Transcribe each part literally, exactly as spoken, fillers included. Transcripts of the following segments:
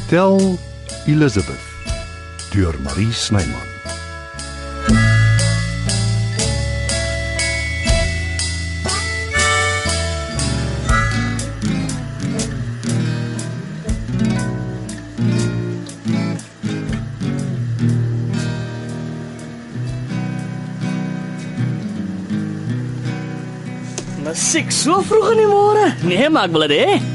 Tel Elizabeth deur Marie Snyman. Musiek so vroeg in die môre? Nee, maar ek wil dit hê.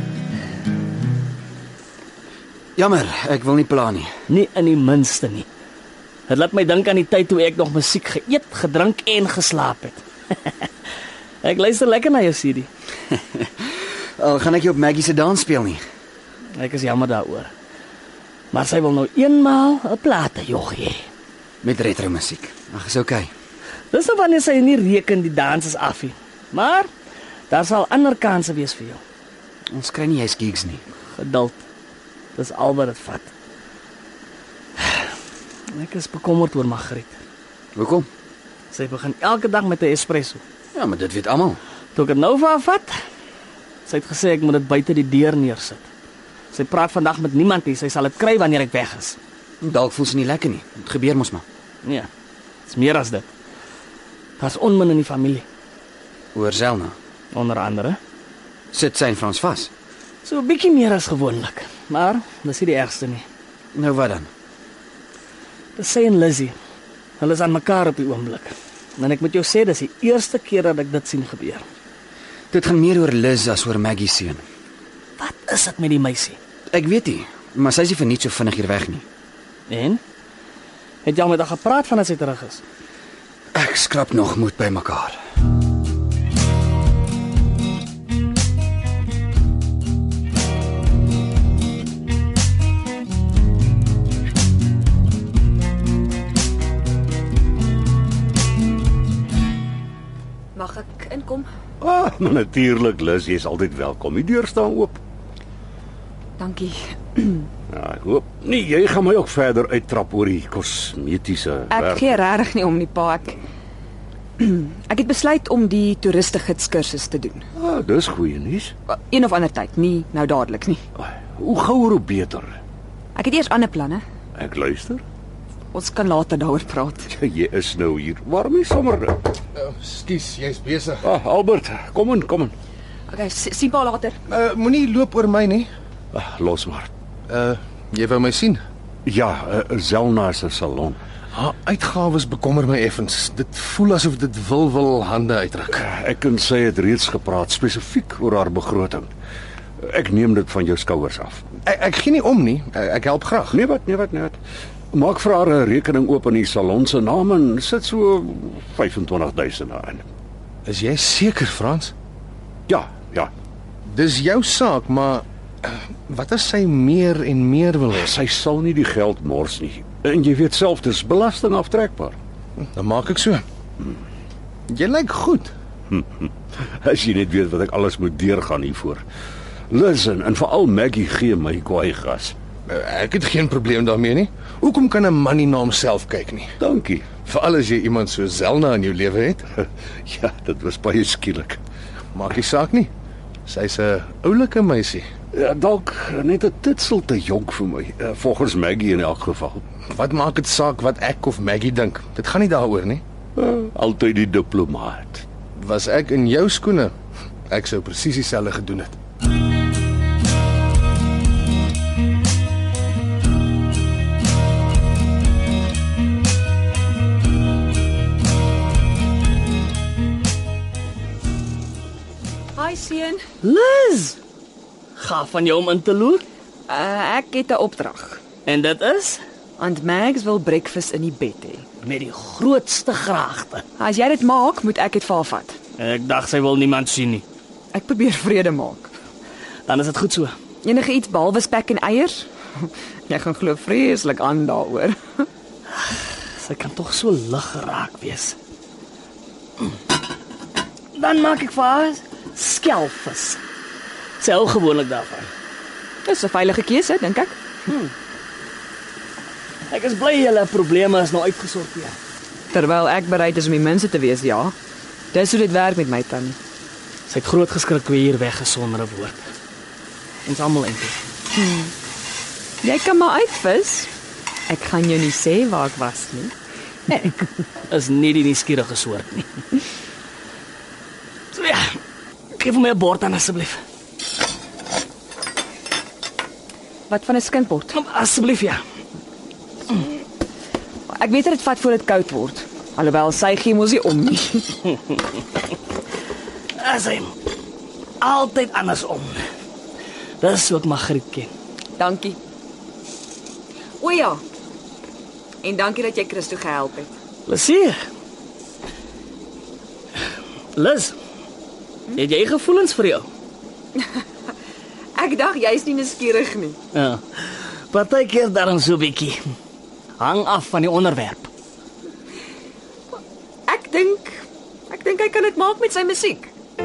Jammer, ek wil nie pla nie. Nie in die minste nie. Dit laat my dink aan die tyd toe ek nog musiek geëet, gedrink en geslaap het. Ek luister lekker na jou C D. Al gaan ek nie op Maggie se dans speel nie. Ek is jammer daaroor. Maar sy wil nou eenmaal 'n plate jog hê. Met retro musiek. Ag, is okay. Dis nou wanneer sy nie reken die dans is af nie. Maar daar sal ander kansse wees vir jou. Ons kry nie jy's gigs nie. Geduld. Dis al wat dit vat. Ek is bekommerd oor Margriet. Hoekom? Sy begin elke dag met 'n espresso. Ja, maar dit weet almal. Toe ek dit nou vir haar vat, sy het gesê ek moet dit buite die deur neersit. Sy praat vandag met niemand nie, sy sal dit kry wanneer ek weg is. Dalk voel sy nie lekker nie. Dit gebeur mos maar. Nee, dis meer as dit. Daar's onmin in die familie, Oor Zelna. onder andere. Sit sy en Frans vas. So 'n bietjie meer as gewoonlik, maar dis nie die ergste nie. Nou wat dan? Dis sy en Lizzie. Hulle is aan mekaar op die oomblik. En ek moet jou sê, dis die eerste keer dat ek dit sien gebeur. Dit gaan meer oor Liz as oor Maggie seun. Wat is dit met die meisie? Ek weet nie, maar sy is nie vir niks so vinnig hier weg nie. En? Het jy al met haar gepraat van as sy terug is? Ek skrap nog moed by mekaar. Mag ek inkom? Ah, maar natuurlik, Liz, jy is altyd welkom. Die deur staan oop. Dankie. Ja, ek hoop nie jy gaan my ook verder uittrap oor die kosmetiese Ek werk. gee regtig nie om nie, pa. Ek Ek het besluit om die toeristegidskursus te doen. Ah, dis goeie nuus. Een of ander tyd, nie nou dadelik nie. Ah, hoe gouer hoe beter. Ek het eers ander planne. Ek luister. Ons kan later daaroor praat. Jy is nou hier. Waarom nie sommer? Uh, Skus, jy's besig. Ah, Albert, kom in, kom in. Okay, si- sien pa later. Uh, Moenie loop oor my nie. Ah, los maar. Uh, jy wou my sien. Ja, uh, Zelna se salon. Haar uitgawes bekommer my effens. Dit voel asof dit wil wil hande uitdruk. Ek en sy het reeds gepraat spesifiek oor haar begroting. Ek neem dit van jou skouers af. Ek, ek gee nie om nie. Ek, ek help graag. Nee wat, nee wat, nee wat. Maak vir haar 'n rekening oop in die salon se naam en sit so vyf en twintig duisend daarin. Is jy seker, Frans? Ja, ja. Dis jou saak, maar uh, wat as sy meer en meer wil hê? Sy sal nie die geld mors nie. En jy weet self, dis belastingaftrekbaar. Dan maak ek so. Jy lyk goed. As jy net weet wat ek alles moet deurgaan hiervoor. Listen, en veral Maggie gee my kwaai gas. Uh, ek het geen probleem daarmee nie. Hoekom kan 'n man nie na homself kyk nie? Dankie. Veral as jy iemand so Zelna in jou lewe het. Ja, dit was baie skielik. Maak nie saak nie. Sy's 'n oulike meisie. Ja, dalk net 'n titsel te jonk vir my, uh, volgens Maggie in elk geval. Wat maak dit saak wat ek of Maggie dink? Dit gaan nie daaroor nie. Uh, altyd die diplomaat. Was ek in jou skoene, ek sou presies dieselfde gedoen het. Hi seun. Liz! Gaaf van jou om in te loer. Uh, ek het 'n opdrag. En dit is Aunt Mags wil breakfast in die bed hê. met die grootste graagte. As jy dit maak, moet ek dit vir haar vat. Ek dink sy wil niemand sien nie. Ek probeer vrede maak. Dan is dit goed so. Enige iets behalwe spek en eiers? Jy gaan glo vreeslik aan daaroor. Sy kan tog so lig geraak wees. Dan maak ek vir haar skelvis. Sy hou gewoonlik daarvan. Dis 'n veilige keuse, dink ek. Ek is bly julle probleme is nou uitgesorteer. Terwyl ek bereid is om die minste te wees, ja. Dis hoe dit werk met my tannie. Sy het groot geskrik toe hy hier weggesonder 'n woord. Ons almal eintlik. Jy kan maar uitvis. Ek gaan jou nie sê waar ek was nie. Ek is nie die nuuskierige soort nie. So ja, geef my 'n bord aan asseblief. Wat van 'n skinkbord? Asseblief ja. Ek weet dit vat voor dit koud word. Alhoewel sy gee mos nie om nie. Asem. Altyd andersom. Dis ook Margriet ken. Dankie. O ja. En dankie dat jy Christo gehelp het. Lesie. Liz. Het jy gevoelens vir jou? Ek dink jy's nie nuuskierig nie. Ja. Partykeer daarom so 'n bietjie. Hang af van die onderwerp. Ek dink ek dink hy kan dit maak met sy musiek.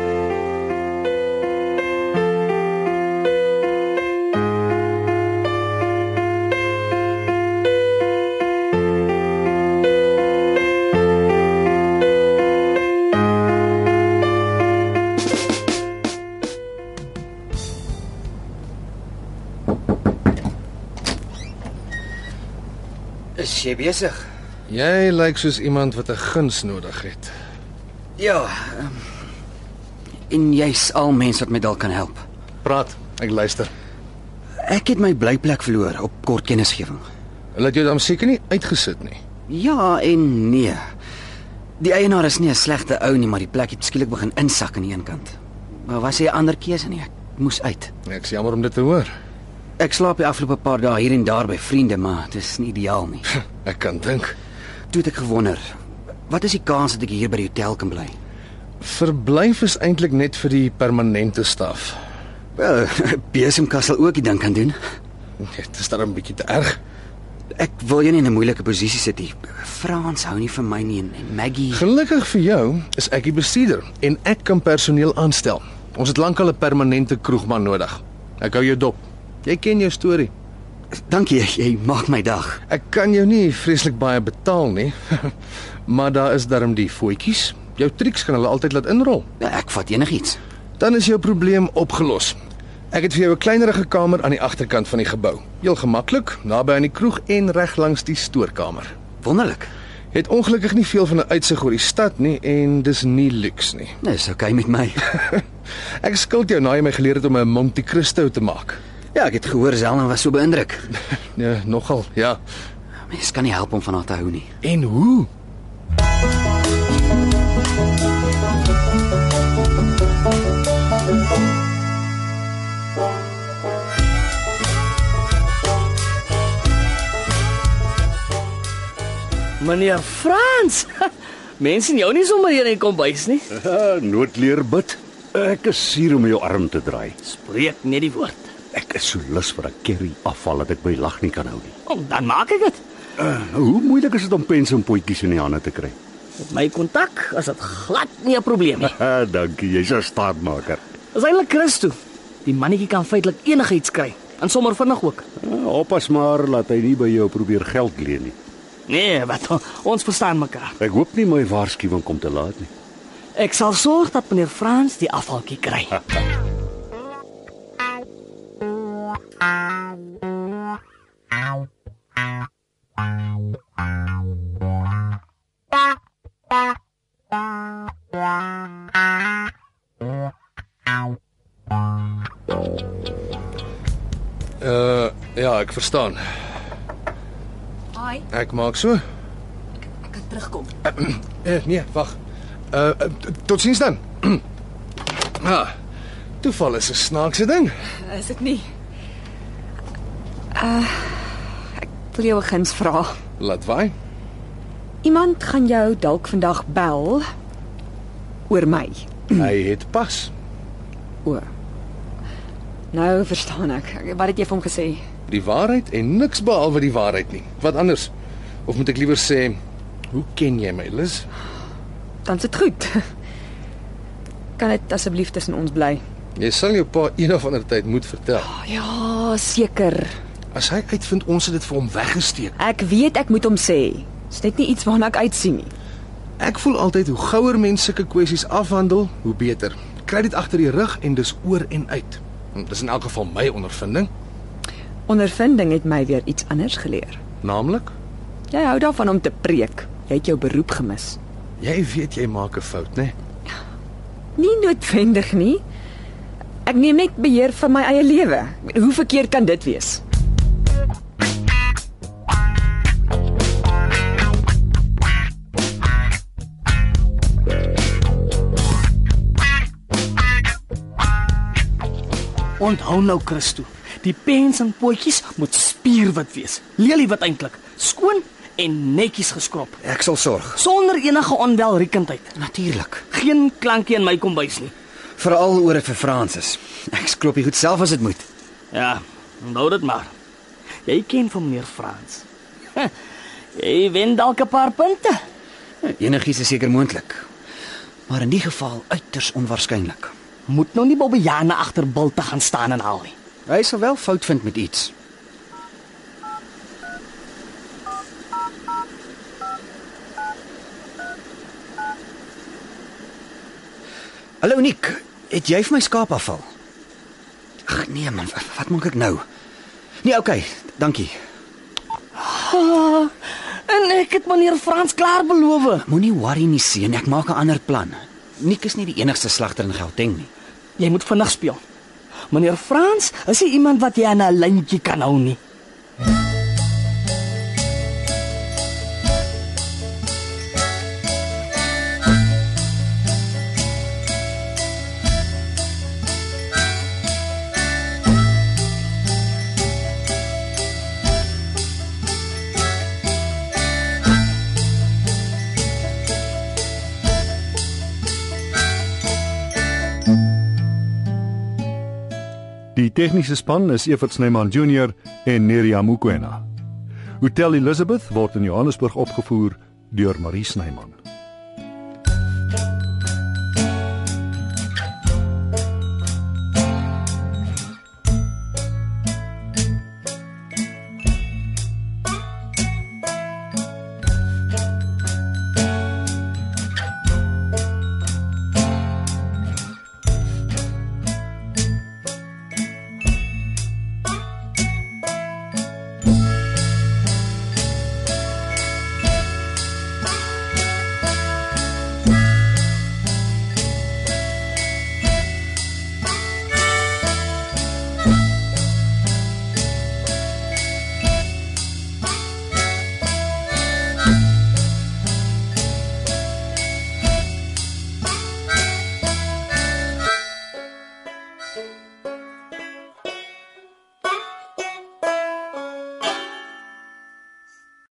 Is jy besig? Jy lyk soos iemand wat 'n guns nodig het. Ja. Um, en jy's al mens wat my dalk kan help. Praat, ek luister. Ek het my blyplek verloor op kort kennisgewing. Hulle het jou dan seker nie uitgesit nie. Ja en nee. Die eienaar is nie 'n slegte ou nie, maar die plek het skielik begin insak aan die een kant. Maar was hy 'n ander keuse nie? Ek moes uit. Ek is jammer om dit te hoor. Ek slaap die afgelope paar dae hier en daar by vriende, maar dit is nie ideaal nie. Ek kan dink. Toe het ek gewonder, wat is die kans dat ek hier by die hotel kan bly? Verblyf is eintlik net vir die permanente staf. Wel, besemkas sal ook die ding kan doen. Dit is dan 'n bietjie te erg. Ek wil jou nie in 'n moeilike posisie sit nie. Frans hou nie van my nie en, en Maggie. Gelukkig vir jou is ek die bestuurder en ek kan personeel aanstel. Ons het lankal 'n permanente kroegman nodig. Ek hou jou dop. Jy ken jou storie. Dankie, jy maak my dag. Ek kan jou nie vreeslik baie betaal nie. Maar daar is darm die voetjies. Jou triks kan hulle altyd laat inrol. Ja, ek vat enigiets. Dan is jou probleem opgelos. Ek het vir jou 'n kleinerige kamer aan die agterkant van die gebou. Heel gemaklik, naby aan die kroeg en reg langs die stoorkamer. Wonderlik. Het ongelukkig nie veel van 'n uitsig oor die stad nie en dis nie luks nie. Dis oukei met my. Ek skuld jou na jy my geleer het om 'n Monte Cristo te maak. Ja, ek het gehoor Zelna was so beïndruk. Ja, nogal, ja. Mens kan nie help om van haar te hou nie. En hoe? Meneer Frans. Mense sien jou nie sommer hier in die kombuis nie. Uh, noodleer bid. Ek is hier om jou arm te draai. Spreek net die woord. Ek is so lus vir 'n curry afval dat ek my lag nie kan hou nie. Oh, dan maak ek dit. Uh, hoe moeilik is dit om pens en potjies in die hande te kry? Met my kontak is dit glad nie 'n probleem nie. Uh, dankie, jy's 'n staatmaker. Dis eintlik Christo. Die mannetjie kan feitelik enigiets kry. En sommer vinnig ook. Uh, oppas maar laat hy nie by jou probeer geld leen nie. Nee, wat ons verstaan mekaar. Ek hoop nie my waarskuwing kom te laat nie. Ek sal sorg dat meneer Frans die afvaltjie kry. Uh, ja, ek verstaan. Hi, Ek maak so. ek kan terugkom. Eh, nee, wag. Uh, uh tot sins dan. Ah. Toeval is 'n snaakse ding. Is dit nie? Uh ek wil jou 'n guns vra. Laat waai. Iemand gaan jou dalk vandag bel oor my. Hy het pas. O. Nou verstaan ek. Wat het jy vir hom gesê? Die waarheid en niks behalwe die waarheid nie. Wat anders? Of moet ek liewer sê, hoe ken jy my, Liz? Dan is dit goed. Kan dit asseblief tussen ons bly? Jy sal jou pa een of ander tyd moet vertel. Ja, seker. As hy uitvind ons het dit vir hom weggesteek. Ek weet ek moet hom sê. Dis net nie iets waarna ek uitsien nie. Ek voel altyd hoe gouer mense sulke kwessies afhandel, hoe beter. Kry dit agter die rug en dis oor en uit. Dis in elk geval my ondervinding. Ondervinding het my weer iets anders geleer. Naamlik, Jy hou daarvan om te preek. Jy het jou beroep gemis. jy weet jy maak 'n fout, né? Nie noodwendig nie. Ek neem net beheer van my eie lewe. Hoe verkeerd kan dit wees? Onthou nou, Christo, die pens en potjies moet spierwit wees. Leliewit eintlik, skoon en netjies geskrob, Ek sal sorg. sonder enige onwelriekendheid. Natuurlik. Geen klankie in my kombuis nie. Veral oor dit vir Fransis. Ek skrob die goed self as dit moet. Ja, onthou dit maar. Jy ken van meneer Frans. Huh, jy wen dalk 'n paar punte. Enigiets is seker moontlik. Maar in die geval uiters onwaarskynlik. Moet nou nie Bobbejane agter Bilte gaan staan en haal nie. Hy sal wel fout vind met iets. Hallo Nick, het jy vir my skaap afval? Ag nee man, wat, wat maak ek nou? Nee, okay, dankie. Ah, en ek het meneer Frans klaar beloof. Moenie worry nie seun, ek maak 'n ander plan. Nick is nie die enigste slagter in Gauteng nie. Jy moet vinnig speel. Meneer Frans is nie iemand wat jy aan 'n lyntjie kan hou nie. Die tegniese span is Evert Snyman Junior en Neriya Mukwena. Hotel Elizabeth word in Johannesburg opgevoer deur Marie Snyman.